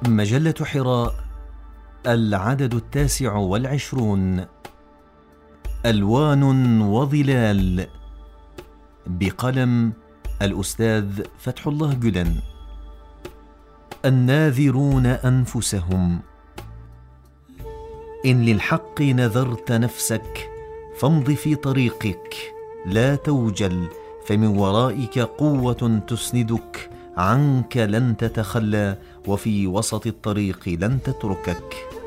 مجلة حراء، العدد 29. ألوان وظلال، بقلم الأستاذ فتح الله جلن. الناذرون أنفسهم. إن للحق نذرت نفسك فامض في طريقك، لا توجل، فمن ورائك قوة تسندك، عنك لن تتخلى، وفي وسط الطريق لن تتركك.